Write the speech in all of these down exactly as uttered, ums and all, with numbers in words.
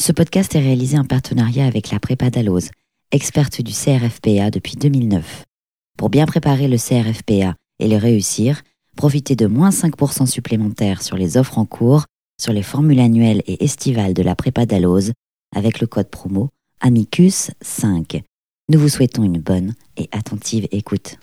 Ce podcast est réalisé en partenariat avec la Prépa Dalloz, experte du C R F P A depuis deux mille neuf. Pour bien préparer le C R F P A et le réussir, profitez de moins cinq pour cent supplémentaires sur les offres en cours, sur les formules annuelles et estivales de la Prépa Dalloz, avec le code promo Amicus cinq. Nous vous souhaitons une bonne et attentive écoute.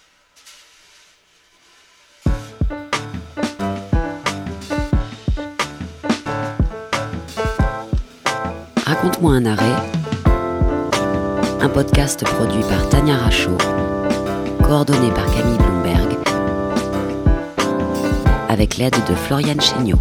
Raconte-moi un arrêt, un podcast produit par Tania Rachaud, coordonné par Camille Bloomberg, avec l'aide de Floriane Chéniaud.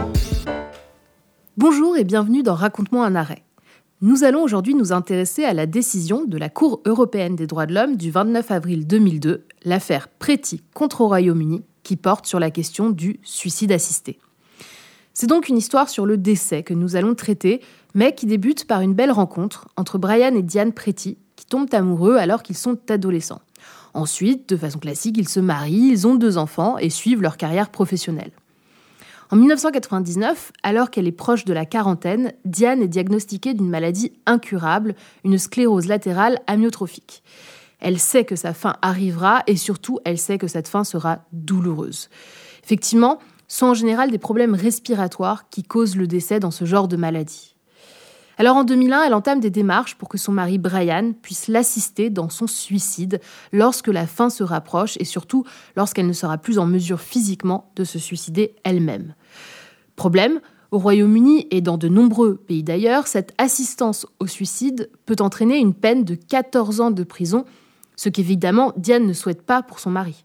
Bonjour et bienvenue dans Raconte-moi un arrêt. Nous allons aujourd'hui nous intéresser à la décision de la Cour européenne des droits de l'homme du vingt-neuf avril deux mille deux, l'affaire Preti contre au Royaume-Uni, qui porte sur la question du suicide assisté. C'est donc une histoire sur le décès que nous allons traiter, mais qui débute par une belle rencontre entre Brian et Diane Preti, qui tombent amoureux alors qu'ils sont adolescents. Ensuite, de façon classique, ils se marient, ils ont deux enfants et suivent leur carrière professionnelle. En dix-neuf cent quatre-vingt-dix-neuf, alors qu'elle est proche de la quarantaine, Diane est diagnostiquée d'une maladie incurable, une sclérose latérale amyotrophique. Elle sait que sa fin arrivera et surtout, elle sait que cette fin sera douloureuse. Effectivement, ce sont en général des problèmes respiratoires qui causent le décès dans ce genre de maladie. Alors en deux mille un, elle entame des démarches pour que son mari Brian puisse l'assister dans son suicide lorsque la fin se rapproche et surtout lorsqu'elle ne sera plus en mesure physiquement de se suicider elle-même. Problème, au Royaume-Uni et dans de nombreux pays d'ailleurs, cette assistance au suicide peut entraîner une peine de quatorze ans de prison, ce qu'évidemment Diane ne souhaite pas pour son mari.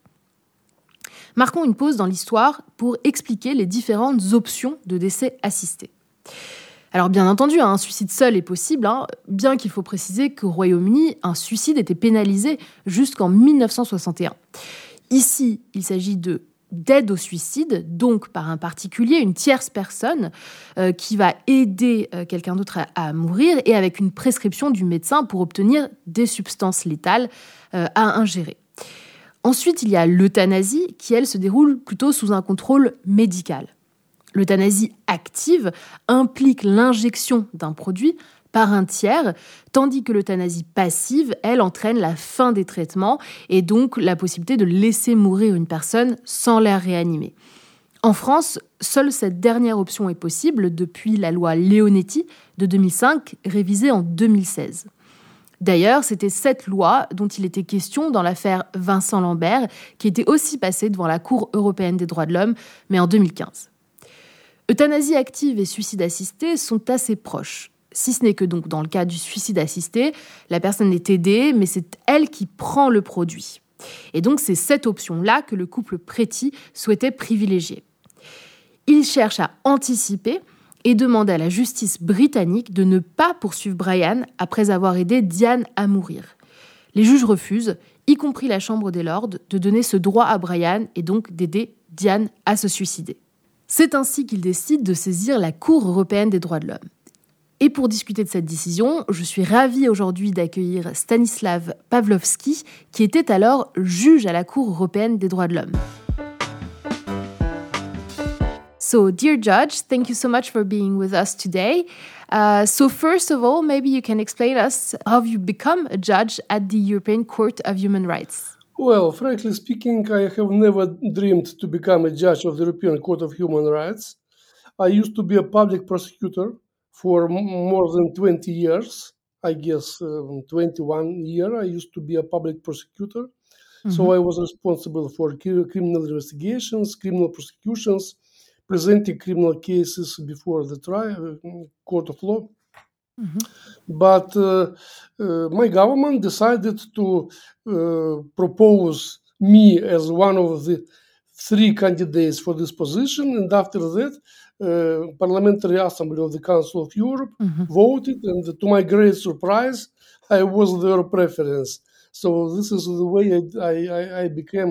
Marquons une pause dans l'histoire pour expliquer les différentes options de décès assisté. Alors bien entendu, un suicide seul est possible, hein, bien qu'il faut préciser qu'au Royaume-Uni, un suicide était pénalisé jusqu'en dix-neuf cent soixante et un. Ici, il s'agit de d'aide au suicide, donc par un particulier, une tierce personne euh, qui va aider euh, quelqu'un d'autre à, à mourir et avec une prescription du médecin pour obtenir des substances létales euh, à ingérer. Ensuite, il y a l'euthanasie qui, elle, se déroule plutôt sous un contrôle médical. L'euthanasie active implique l'injection d'un produit par un tiers, tandis que l'euthanasie passive, elle, entraîne la fin des traitements et donc la possibilité de laisser mourir une personne sans la réanimer. En France, seule cette dernière option est possible depuis la loi Leonetti de deux mille cinq, révisée en deux mille seize. D'ailleurs, c'était cette loi dont il était question dans l'affaire Vincent Lambert, qui était aussi passée devant la Cour européenne des droits de l'homme, mais en deux mille quinze. Euthanasie active et suicide assisté sont assez proches, si ce n'est que donc dans le cas du suicide assisté, la personne est aidée, mais c'est elle qui prend le produit. Et donc c'est cette option-là que le couple Preti souhaitait privilégier. Il cherche à anticiper et demande à la justice britannique de ne pas poursuivre Brian après avoir aidé Diane à mourir. Les juges refusent, y compris la Chambre des Lords, de donner ce droit à Brian et donc d'aider Diane à se suicider. C'est ainsi qu'il décide de saisir la Cour européenne des droits de l'homme. Et pour discuter de cette décision, je suis ravie aujourd'hui d'accueillir Stanislav Pawlowski, qui était alors juge à la Cour européenne des droits de l'homme. So, dear judge, thank you so much for being with us today. Uh, so first of all, maybe you can explain us how you become a judge at the European Court of Human Rights. Well, frankly speaking, I have never dreamed to become a judge of the European Court of Human Rights. I used to be a public prosecutor for m- more than twenty years. I guess um, twenty-one year I used to be a public prosecutor. Mm-hmm. So I was responsible for ki- criminal investigations, criminal prosecutions, presenting criminal cases before the trial, uh, court of law. Mm-hmm. But uh, uh, my government decided to uh, propose me as one of the three candidates for this position, and after that, uh, Parliamentary Assembly of the Council of Europe mm-hmm. voted, and to my great surprise, I was their preference. So this is the way I, I, I became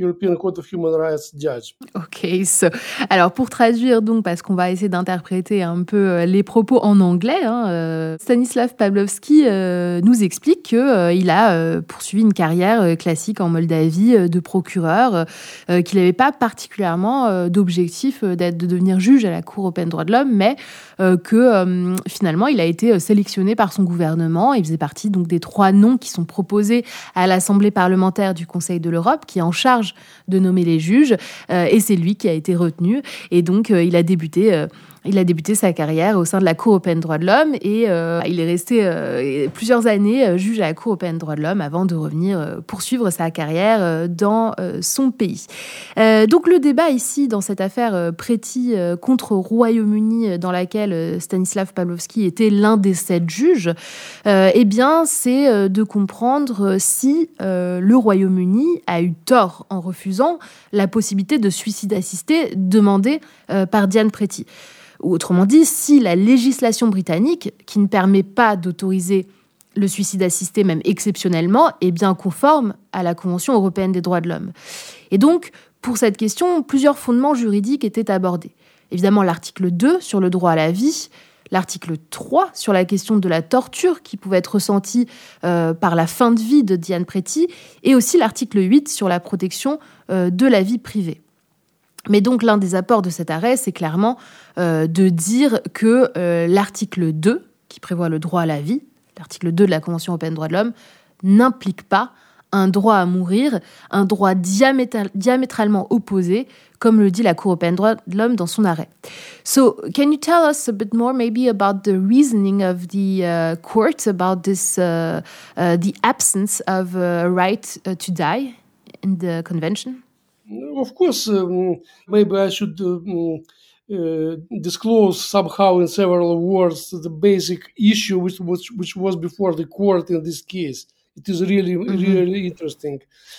European Court of Human Rights judge. Ok, so, alors pour traduire donc, parce qu'on va essayer d'interpréter un peu les propos en anglais, hein, euh, Stanislav Pavlovsky euh, nous explique qu'il euh, a euh, poursuivi une carrière euh, classique en Moldavie euh, de procureur, euh, qu'il n'avait pas particulièrement euh, d'objectif euh, d'être, de devenir juge à la Cour européenne des droits de l'homme, mais euh, que euh, finalement il a été sélectionné par son gouvernement. Il faisait partie donc des trois noms qui sont proposés à l'Assemblée parlementaire du Conseil de l'Europe, qui est en charge de nommer les juges, euh, et c'est lui qui a été retenu. Et donc, euh, il a débuté... Euh, Il a débuté sa carrière au sein de la Cour européenne des droits de l'homme et euh, il est resté euh, plusieurs années euh, juge à la Cour européenne des droits de l'homme avant de revenir euh, poursuivre sa carrière euh, dans euh, son pays. Euh, donc le débat ici dans cette affaire euh, Preti euh, contre Royaume-Uni dans laquelle euh, Stanislav Pavlovsky était l'un des sept juges, euh, eh bien c'est euh, de comprendre si euh, le Royaume-Uni a eu tort en refusant la possibilité de suicide assisté demandée euh, par Diane Preti. Ou autrement dit, si la législation britannique, qui ne permet pas d'autoriser le suicide assisté, même exceptionnellement, est bien conforme à la Convention européenne des droits de l'homme. Et donc, pour cette question, plusieurs fondements juridiques étaient abordés. Évidemment, l'article deux sur le droit à la vie, l'article trois sur la question de la torture qui pouvait être ressentie euh, par la fin de vie de Diane Preti, et aussi l'article huit sur la protection euh, de la vie privée. Mais donc, l'un des apports de cet arrêt, c'est clairement euh, de dire que euh, l'article deux, qui prévoit le droit à la vie, l'article deux de la Convention européenne des droits de l'homme, n'implique pas un droit à mourir, un droit diamétral, diamétralement opposé, comme le dit la Cour européenne des droits de l'homme dans son arrêt. So, can you tell us a bit more maybe about the reasoning of the uh, court about this, uh, uh, the absence of a right uh, to die in the convention? Of course, um, maybe I should um, uh, disclose somehow in several words the basic issue which, which, which was before the court in this case. It is really, mm-hmm. really interesting.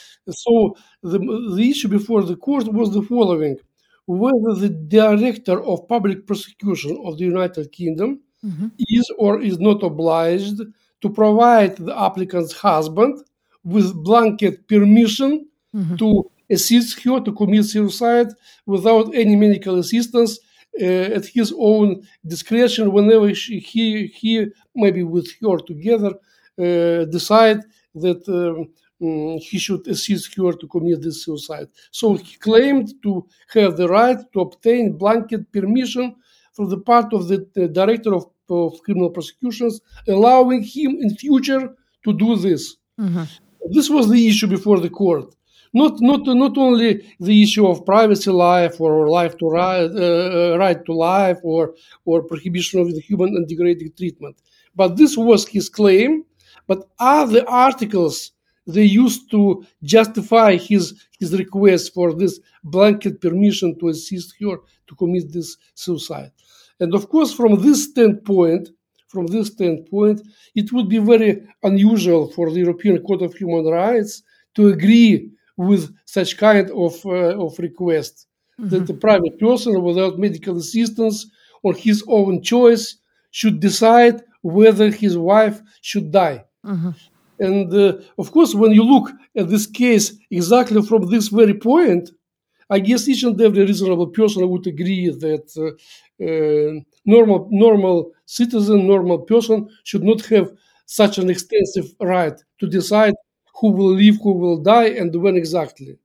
So the, the issue before the court was the following: whether the Director of Public Prosecution of the United Kingdom mm-hmm. is or is not obliged to provide the applicant's husband with blanket permission mm-hmm. to assist her to commit suicide without any medical assistance uh, at his own discretion whenever she, he, he, maybe with her together, uh, decide that um, um, he should assist her to commit this suicide. So he claimed to have the right to obtain blanket permission from the part of the, the Director of, of Criminal Prosecutions, allowing him in future to do this. Mm-hmm. This was the issue before the court. Not, not, not only the issue of privacy life or life to right, uh, right to life or, or prohibition of the human and degrading treatment, but this was his claim. But other articles they used to justify his his request for this blanket permission to assist her to commit this suicide. And of course, from this standpoint, from this standpoint, it would be very unusual for the European Court of Human Rights to agree with such kind of uh, of request, mm-hmm. that a private person without medical assistance on his own choice should decide whether his wife should die. Mm-hmm. And uh, of course, when you look at this case exactly from this very point, I guess each and every reasonable person would agree that uh, uh, normal normal citizen, normal person should not have such an extensive right to decide who will live, who will die, and when exactly.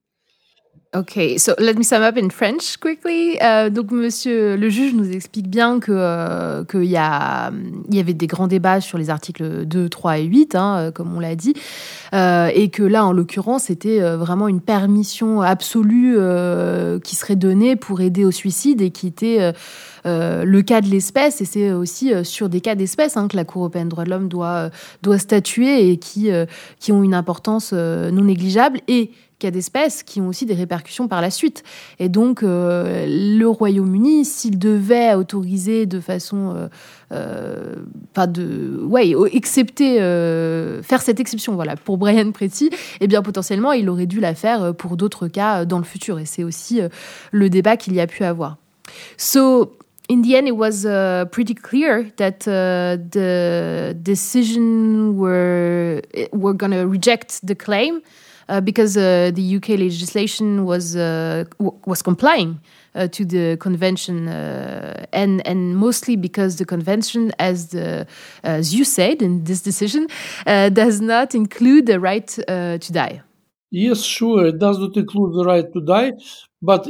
Okay, so let me sum up in French quickly. Euh, donc, monsieur le juge nous explique bien que euh, qu'il y a il y avait des grands débats sur les articles deux, trois et huit, hein, comme on l'a dit, euh, et que là, en l'occurrence, c'était vraiment une permission absolue euh, qui serait donnée pour aider au suicide et qui était euh, euh, le cas de l'espèce. Et c'est aussi euh, sur des cas d'espèce hein, que la Cour européenne des droits de l'homme doit doit statuer et qui euh, qui ont une importance euh, non négligeable et cas d'espèces qui ont aussi des répercussions par la suite. Et donc, euh, le Royaume-Uni, s'il devait autoriser de façon... Euh, euh, pas de... Ouais, accepter... Euh, faire cette exception, voilà, pour Brian Preti, eh bien, potentiellement, il aurait dû la faire pour d'autres cas dans le futur. Et c'est aussi euh, le débat qu'il y a pu avoir. So... In the end, it was uh, pretty clear that uh, the decision were were going to reject the claim uh, because uh, the U K legislation was uh, w- was complying uh, to the convention, uh, and and mostly because the convention, as the as you said in this decision, uh, does not include the right uh, to die. Yes, sure, it does not include the right to die, but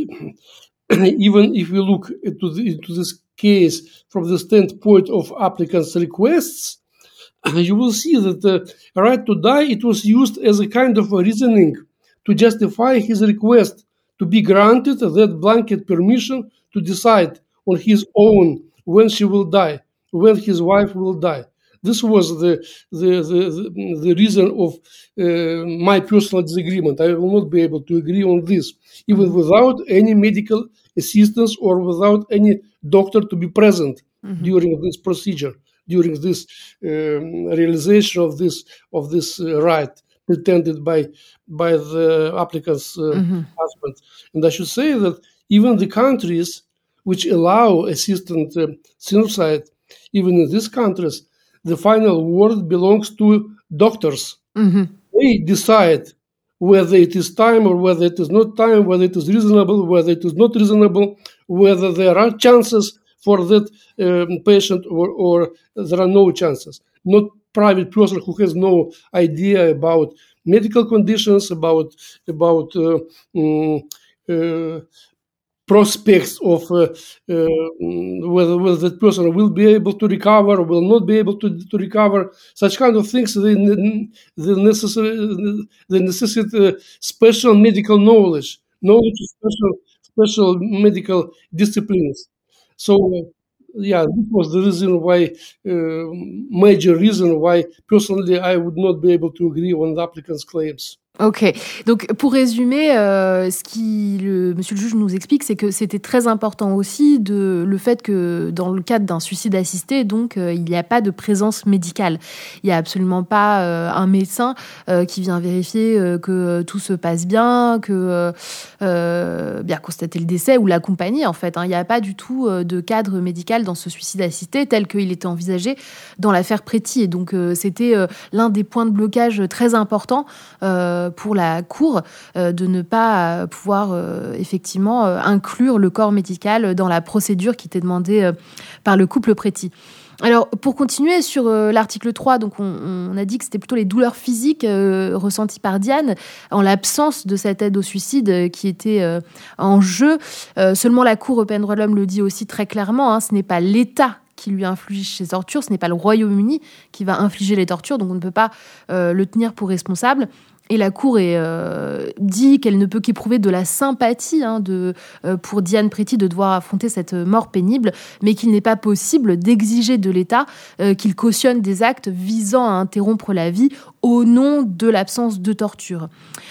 even if we look into, the, into this case from the standpoint of applicants' requests, you will see that the right to die, it was used as a kind of a reasoning to justify his request to be granted that blanket permission to decide on his own when she will die, when his wife will die. This was the the, the, the reason of uh, my personal disagreement. I will not be able to agree on this, even without any medical assistance or without any doctor to be present mm-hmm. during this procedure, during this um, realization of this of this uh, right pretended by by the applicant's uh, mm-hmm. husband. And I should say that even the countries which allow assisted uh, suicide, even in these countries, the final word belongs to doctors. Mm-hmm. They decide whether it is time or whether it is not time, whether it is reasonable, whether it is not reasonable, whether there are chances for that um, patient or, or there are no chances. Not private person who has no idea about medical conditions, about about uh, um, uh, prospects of uh, uh, whether, whether that person will be able to recover or will not be able to, to recover. Such kind of things, they, they, necessary, they necessitate uh, special medical knowledge, knowledge of special, special medical disciplines. So, uh, yeah, this was the reason why, uh, major reason why, personally, I would not be able to agree on the applicant's claims. Ok, donc pour résumer, euh, ce qui le monsieur le juge nous explique, c'est que c'était très important aussi de le fait que dans le cadre d'un suicide assisté, donc euh, il n'y a pas de présence médicale. Il n'y a absolument pas euh, un médecin euh, qui vient vérifier euh, que tout se passe bien, que euh, bien constater le décès ou l'accompagner en fait. Hein. Il n'y a pas du tout euh, de cadre médical dans ce suicide assisté tel qu'il était envisagé dans l'affaire Preti. Et donc euh, c'était euh, l'un des points de blocage très importants. Euh, pour la Cour euh, de ne pas euh, pouvoir euh, effectivement euh, inclure le corps médical dans la procédure qui était demandée euh, par le couple Preti. Alors, pour continuer sur euh, l'article trois, donc on, on a dit que c'était plutôt les douleurs physiques euh, ressenties par Diane, en l'absence de cette aide au suicide euh, qui était euh, en jeu. Euh, seulement la Cour européenne des droits de l'homme le dit aussi très clairement, hein, ce n'est pas l'État qui lui inflige ces tortures, ce n'est pas le Royaume-Uni qui va infliger les tortures, donc on ne peut pas euh, le tenir pour responsable. Et la Cour est, euh, dit qu'elle ne peut qu'éprouver de la sympathie hein, de, euh, pour Diane Preti de devoir affronter cette mort pénible, mais qu'il n'est pas possible d'exiger de l'État euh, qu'il cautionne des actes visant à interrompre la vie au nom de l'absence de torture.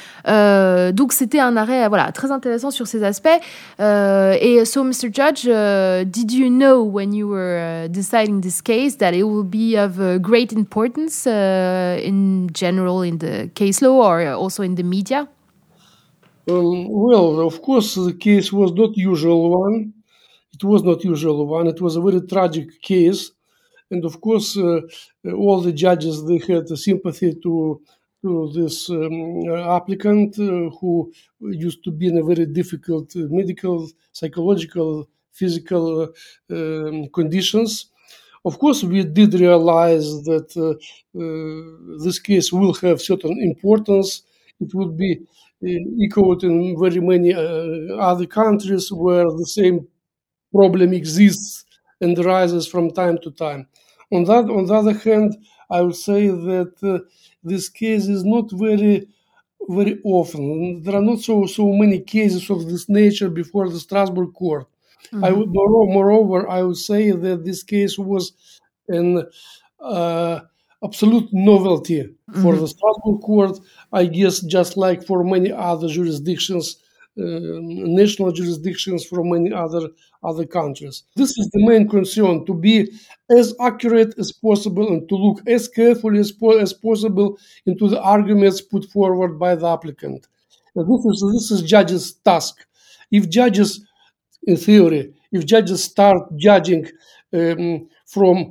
Euh, donc c'était un arrêt voilà très intéressant sur ces aspects. Euh, et so, mister Judge, uh, did you know when you were uh, deciding this case that it will be of uh, great importance uh, in general in the case law or also in the media? Um, well, of course, the case was not usual one. It was not usual one. It was a very tragic case, and of course, uh, all the judges they had sympathy to. to this um, applicant uh, who used to be in a very difficult uh, medical, psychological, physical uh, um, conditions. Of course, we did realize that uh, uh, this case will have certain importance. It would be uh, echoed in very many uh, other countries where the same problem exists and arises from time to time. On that, on the other hand, I would say that uh, this case is not very, very often. There are not so so many cases of this nature before the Strasbourg court. Mm-hmm. I would, moreover, I would say that this case was an uh, absolute novelty mm-hmm. for the Strasbourg court. I guess just like for many other jurisdictions. Uh, national jurisdictions from many other other countries. This is the main concern, to be as accurate as possible and to look as carefully as, po- as possible into the arguments put forward by the applicant. And this is this is judges' task. If judges, in theory, if judges start judging um, from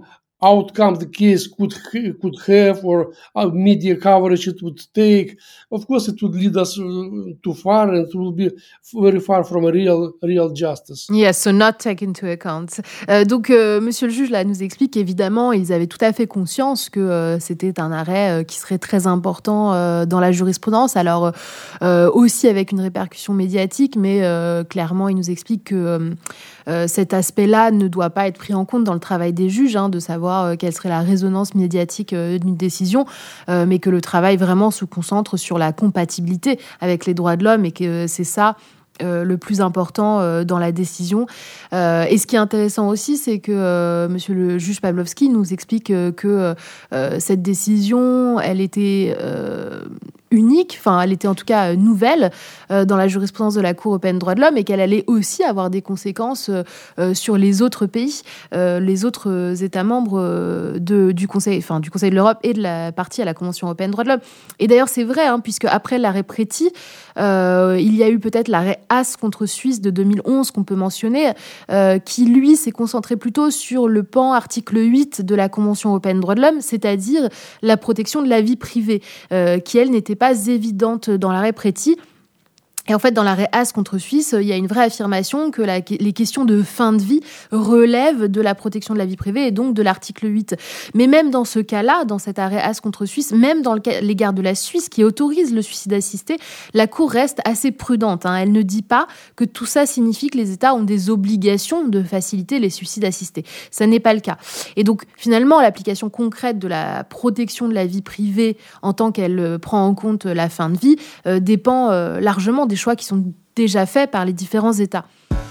outcome the case could could have, or uh, media coverage it would take. Of course, it would lead us uh, too far, and it will be very far from a real real justice. Yes, so not take into account. Euh, donc, euh, Monsieur le juge là nous explique qu'évidemment, ils avaient tout à fait conscience que euh, c'était un arrêt euh, qui serait très important euh, dans la jurisprudence. Alors euh, aussi avec une répercussion médiatique, mais euh, clairement, il nous explique que euh, euh, cet aspect-là ne doit pas être pris en compte dans le travail des juges, hein, de savoir euh, quelle serait la résonance médiatique euh, d'une décision, euh, mais que le travail vraiment se concentre sur la compatibilité avec les droits de l'homme et que euh, c'est ça Euh, le plus important euh, dans la décision. Euh, et ce qui est intéressant aussi, c'est que euh, monsieur le juge Pawlowski nous explique euh, que euh, cette décision, elle était euh, unique, enfin, elle était en tout cas nouvelle euh, dans la jurisprudence de la Cour européenne des droits de l'homme et qu'elle allait aussi avoir des conséquences euh, sur les autres pays, euh, les autres États membres euh, de, du, Conseil, enfin, du Conseil de l'Europe et de la partie à la Convention européenne des droits de l'homme. Et d'ailleurs, c'est vrai, hein, puisque après l'arrêt Preti, euh, il y a eu peut-être l'arrêt Haas contre Suisse de deux mille onze qu'on peut mentionner, euh, qui lui s'est concentré plutôt sur le pan article huit de la Convention européenne des droits de l'homme, c'est-à-dire la protection de la vie privée, euh, qui elle n'était pas évidente dans l'arrêt Preti. Et en fait, dans l'arrêt Haas contre Suisse, il y a une vraie affirmation que la, les questions de fin de vie relèvent de la protection de la vie privée et donc de l'article huit. Mais même dans ce cas-là, dans cet arrêt Haas contre Suisse, même dans le cas, l'égard de la Suisse qui autorise le suicide assisté, la Cour reste assez prudente, hein. Elle ne dit pas que tout ça signifie que les États ont des obligations de faciliter les suicides assistés. Ça n'est pas le cas. Et donc, finalement, l'application concrète de la protection de la vie privée en tant qu'elle euh, prend en compte la fin de vie euh, dépend euh, largement des choix qui sont déjà faits par les différents États.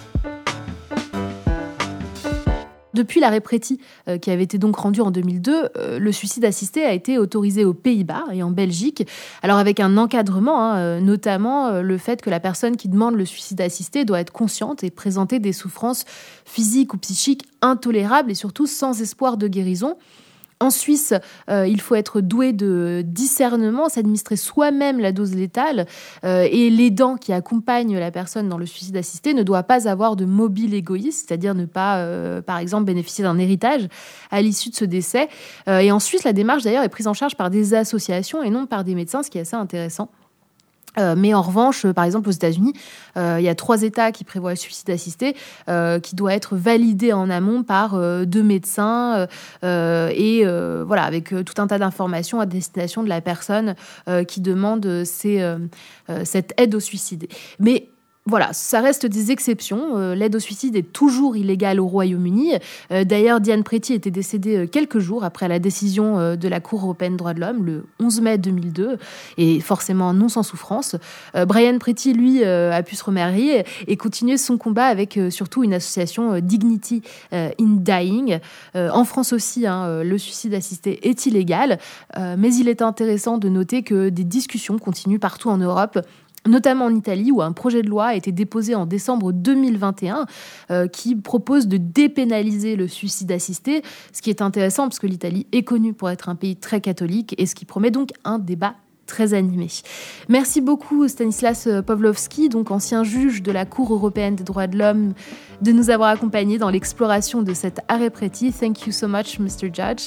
Depuis l'arrêt Preti, euh, qui avait été donc rendu en deux mille deux, euh, le suicide assisté a été autorisé aux Pays-Bas et en Belgique, alors avec un encadrement, hein, euh, notamment euh, le fait que la personne qui demande le suicide assisté doit être consciente et présenter des souffrances physiques ou psychiques intolérables et surtout sans espoir de guérison. En Suisse, euh, il faut être doué de discernement, s'administrer soi-même la dose létale euh, et l'aidant qui accompagne la personne dans le suicide assisté ne doit pas avoir de mobile égoïste, c'est-à-dire ne pas, euh, par exemple, bénéficier d'un héritage à l'issue de ce décès. Euh, et en Suisse, la démarche, d'ailleurs, est prise en charge par des associations et non par des médecins, ce qui est assez intéressant. Euh, mais en revanche, euh, par exemple aux États-Unis, euh, il y a trois États qui prévoient le suicide assisté, euh, qui doit être validé en amont par euh, deux médecins euh, et euh, voilà, avec euh, tout un tas d'informations à destination de la personne euh, qui demande euh, ces, euh, euh, cette aide au suicide. Mais voilà, ça reste des exceptions. Euh, l'aide au suicide est toujours illégale au Royaume-Uni. Euh, d'ailleurs, Diane Preti était décédée euh, quelques jours après la décision euh, de la Cour européenne des droits de l'homme, le onze mai deux mille deux, et forcément non sans souffrance. Euh, Brian Preti, lui, euh, a pu se remarier et continuer son combat avec euh, surtout une association euh, Dignity euh, in Dying. Euh, en France aussi, hein, le suicide assisté est illégal, euh, mais il est intéressant de noter que des discussions continuent partout en Europe, notamment en Italie, où un projet de loi a été déposé en décembre deux mille vingt et un euh, qui propose de dépénaliser le suicide assisté, ce qui est intéressant parce que l'Italie est connue pour être un pays très catholique et ce qui promet donc un débat très animé. Merci beaucoup Stanislas Pawlowski, donc ancien juge de la Cour européenne des droits de l'homme, de nous avoir accompagnés dans l'exploration de cet arrêt Preti. Thank you so much, mister Judge.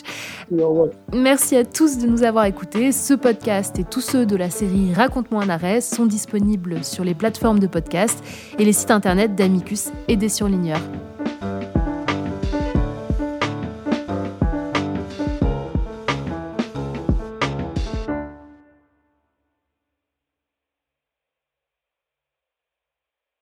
Merci à tous de nous avoir écoutés. Ce podcast et tous ceux de la série Raconte-moi un arrêt sont disponibles sur les plateformes de podcast et les sites internet d'Amicus et des surligneurs.